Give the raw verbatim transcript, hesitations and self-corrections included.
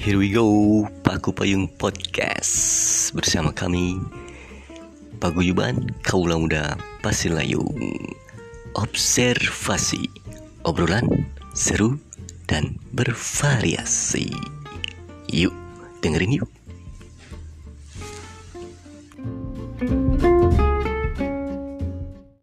Here we go, Paku Payung Podcast bersama kami Paguyuban Kaula Muda Pasilayung. Observasi, obrolan seru dan bervariasi. Yuk, dengerin yuk.